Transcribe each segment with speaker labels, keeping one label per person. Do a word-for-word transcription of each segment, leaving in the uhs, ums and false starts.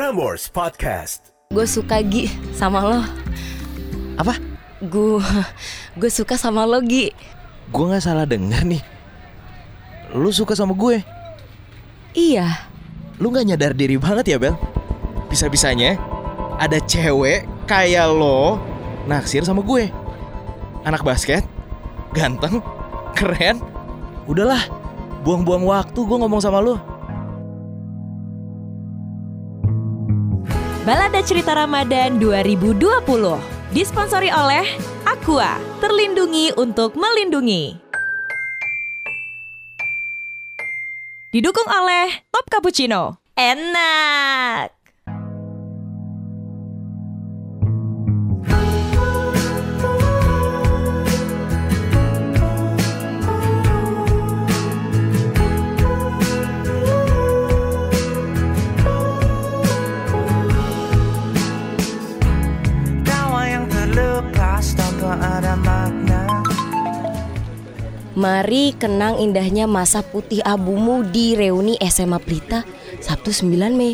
Speaker 1: Prambors Podcast.
Speaker 2: Gue suka Gi sama lo.
Speaker 3: Apa?
Speaker 2: Gue gue suka sama lo Gi.
Speaker 3: Gue nggak salah dengar nih. Lu suka sama gue?
Speaker 2: Iya.
Speaker 3: Lu nggak nyadar diri banget ya Bel? Bisa-bisanya ada cewek kayak lo naksir sama gue. Anak basket, ganteng, keren. Udahlah, buang-buang waktu gue ngomong sama lu.
Speaker 4: Balada Cerita Ramadan dua ribu dua puluh disponsori oleh Aqua, terlindungi untuk melindungi. Didukung oleh Top Cappuccino. Enak.
Speaker 2: Mari kenang indahnya masa putih abumu di reuni S M A Pelita Sabtu sembilan Mei.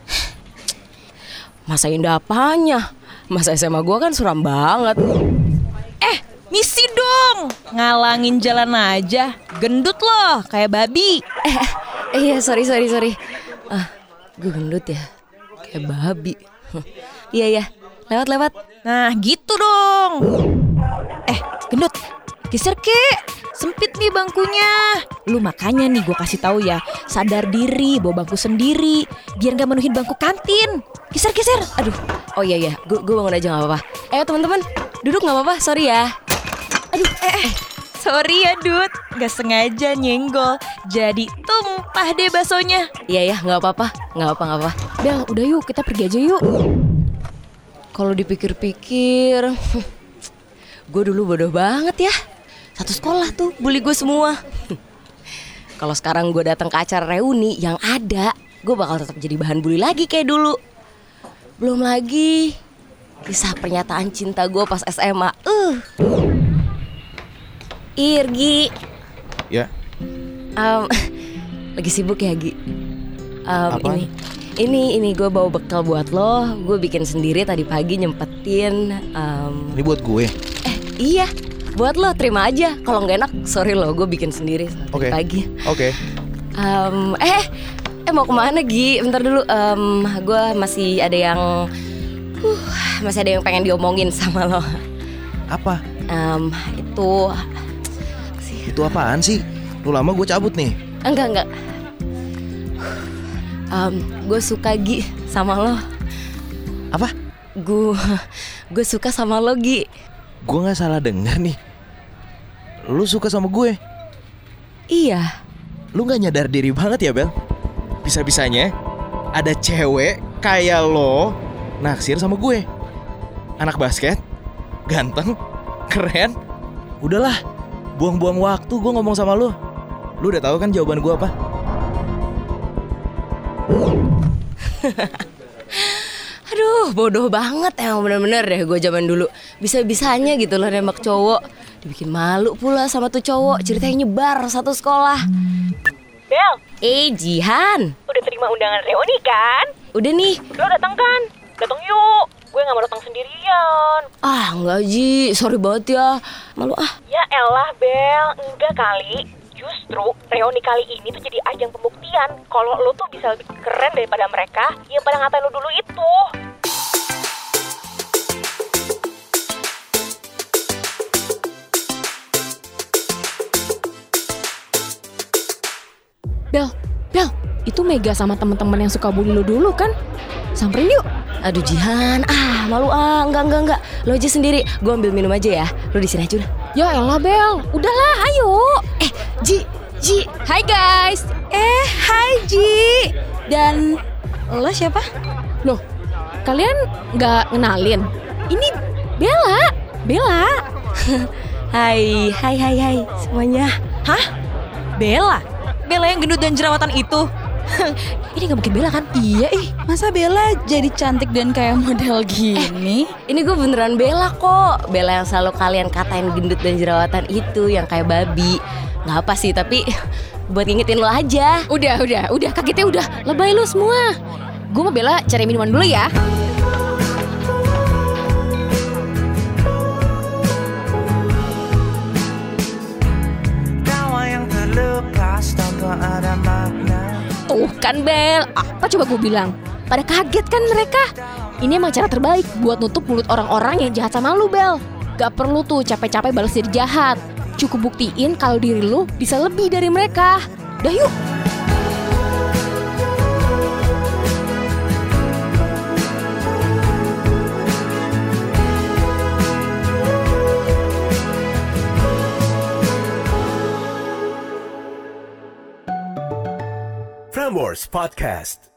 Speaker 2: Masa indah apanya? Masa S M A gue kan suram banget.
Speaker 4: Eh, misi dong. Ngalangin jalan aja. Gendut loh, kayak babi.
Speaker 2: Eh, eh iya sorry sorry sorry. Ah, gue gendut ya, kayak babi. Iya ya, lewat lewat.
Speaker 4: Nah gitu dong. Eh, gendut, geser ke. Sempit nih bangkunya. Lu makanya nih gue kasih tahu ya, sadar diri, bawa bangku sendiri, biar gak menuhin bangku kantin. Geser-geser.
Speaker 2: Aduh, oh iya iya, gue gue bangun aja nggak apa-apa. Eh teman-teman, duduk nggak apa-apa, sorry ya.
Speaker 4: Aduh, eh, eh. Sorry ya Dut, gak sengaja nyenggol, jadi tumpah deh baksonya.
Speaker 2: Iya ya, nggak apa-apa, nggak apa nggak apa.
Speaker 4: Bel, udah yuk kita pergi aja yuk.
Speaker 2: Kalau dipikir-pikir, gue dulu bodoh banget ya. Satu sekolah tuh bully gue semua. Kalau sekarang gue datang ke acara reuni yang ada, gue bakal tetap jadi bahan bully lagi kayak dulu. Belum lagi kisah pernyataan cinta gue pas S M A. Uh. Irgi.
Speaker 3: Ya.
Speaker 2: Um, lagi sibuk ya Gi. Um,
Speaker 3: Apa?
Speaker 2: ini, ini, ini gue bawa bekal buat lo. Gue bikin sendiri tadi pagi nyempetin. Um,
Speaker 3: Ini buat gue.
Speaker 2: Eh iya. Buat lo, terima aja. Kalau nggak enak, sorry lo, gue bikin sendiri
Speaker 3: Oke.
Speaker 2: tadi pagi.
Speaker 3: Oke.
Speaker 2: Um, eh, eh mau kemana Gi? Bentar dulu. Um, gue masih ada yang, uh, masih ada yang pengen diomongin sama lo.
Speaker 3: Apa?
Speaker 2: Um, itu,
Speaker 3: Itu apaan sih? Lu lama gue cabut nih.
Speaker 2: enggak enggak. Um, gue suka Gi sama lo.
Speaker 3: Apa?
Speaker 2: Gue, gue suka sama lo Gi.
Speaker 3: Gue nggak salah dengar nih. Lu suka sama gue?
Speaker 2: Iya.
Speaker 3: Lu nggak nyadar diri banget ya Bel? Bisa-bisanya ada cewek kayak lo naksir sama gue. Anak basket, ganteng, keren. Udahlah, buang-buang waktu gue ngomong sama lu. Lu udah tahu kan jawaban gue apa?
Speaker 2: Aduh, bodoh banget emang bener-bener deh gue zaman dulu. Bisa-bisanya gitu loh nembak cowok. Dibikin malu pula sama tuh cowok. Ceritanya nyebar satu sekolah.
Speaker 4: Bel,
Speaker 2: Eh Jihan,
Speaker 4: udah terima undangan reuni kan?
Speaker 2: udah nih.
Speaker 4: Lo datang kan? Datang yuk. Gue gak mau datang sendirian.
Speaker 2: Ah enggak Ji, sorry banget ya. Malu ah.
Speaker 4: Ya elah Bel, enggak kali. Justru reuni kali ini tuh jadi ajang pembuktian kalau lo tuh bisa lebih keren daripada mereka yang pada ngatain lo dulu itu.
Speaker 5: Bel, Bel, itu Mega sama teman-teman yang suka bully lo dulu kan? Samperin yuk.
Speaker 2: Aduh Jihan, ah malu ah. Enggak enggak enggak. Lo aja sendiri. Gue ambil minum aja ya. Lo di sini aja udah.
Speaker 5: Ya elah Bel, udahlah ayo.
Speaker 2: Eh Ji, Ji.
Speaker 5: Hai guys.
Speaker 4: Eh, hai Ji. Dan lo siapa?
Speaker 5: Loh, kalian gak ngenalin? Ini Bella, Bella.
Speaker 2: Hai, hai hai hai semuanya.
Speaker 4: Hah? Bella? Bella yang gendut dan jerawatan itu?
Speaker 5: Ini gak mungkin Bella kan?
Speaker 4: Iya ih, masa Bella jadi cantik dan kayak model gini?
Speaker 2: Ini gue beneran Bella kok. Bella yang selalu kalian katain gendut dan jerawatan itu, yang kayak babi. Gak apa sih, tapi buat ngingetin lo aja.
Speaker 5: Udah, udah, udah kagetnya udah. Lebay lu semua. gue mau Bella cari minuman dulu ya. Tuh kan Bel, apa coba gue bilang? Pada kaget kan mereka? Ini emang cara terbaik buat nutup mulut orang-orang yang jahat sama lu Bel. Gak perlu tuh capek-capek balas diri jahat. Cukup buktiin kalau diri lu bisa lebih dari mereka. Dah yuk.
Speaker 1: Prambors Podcast.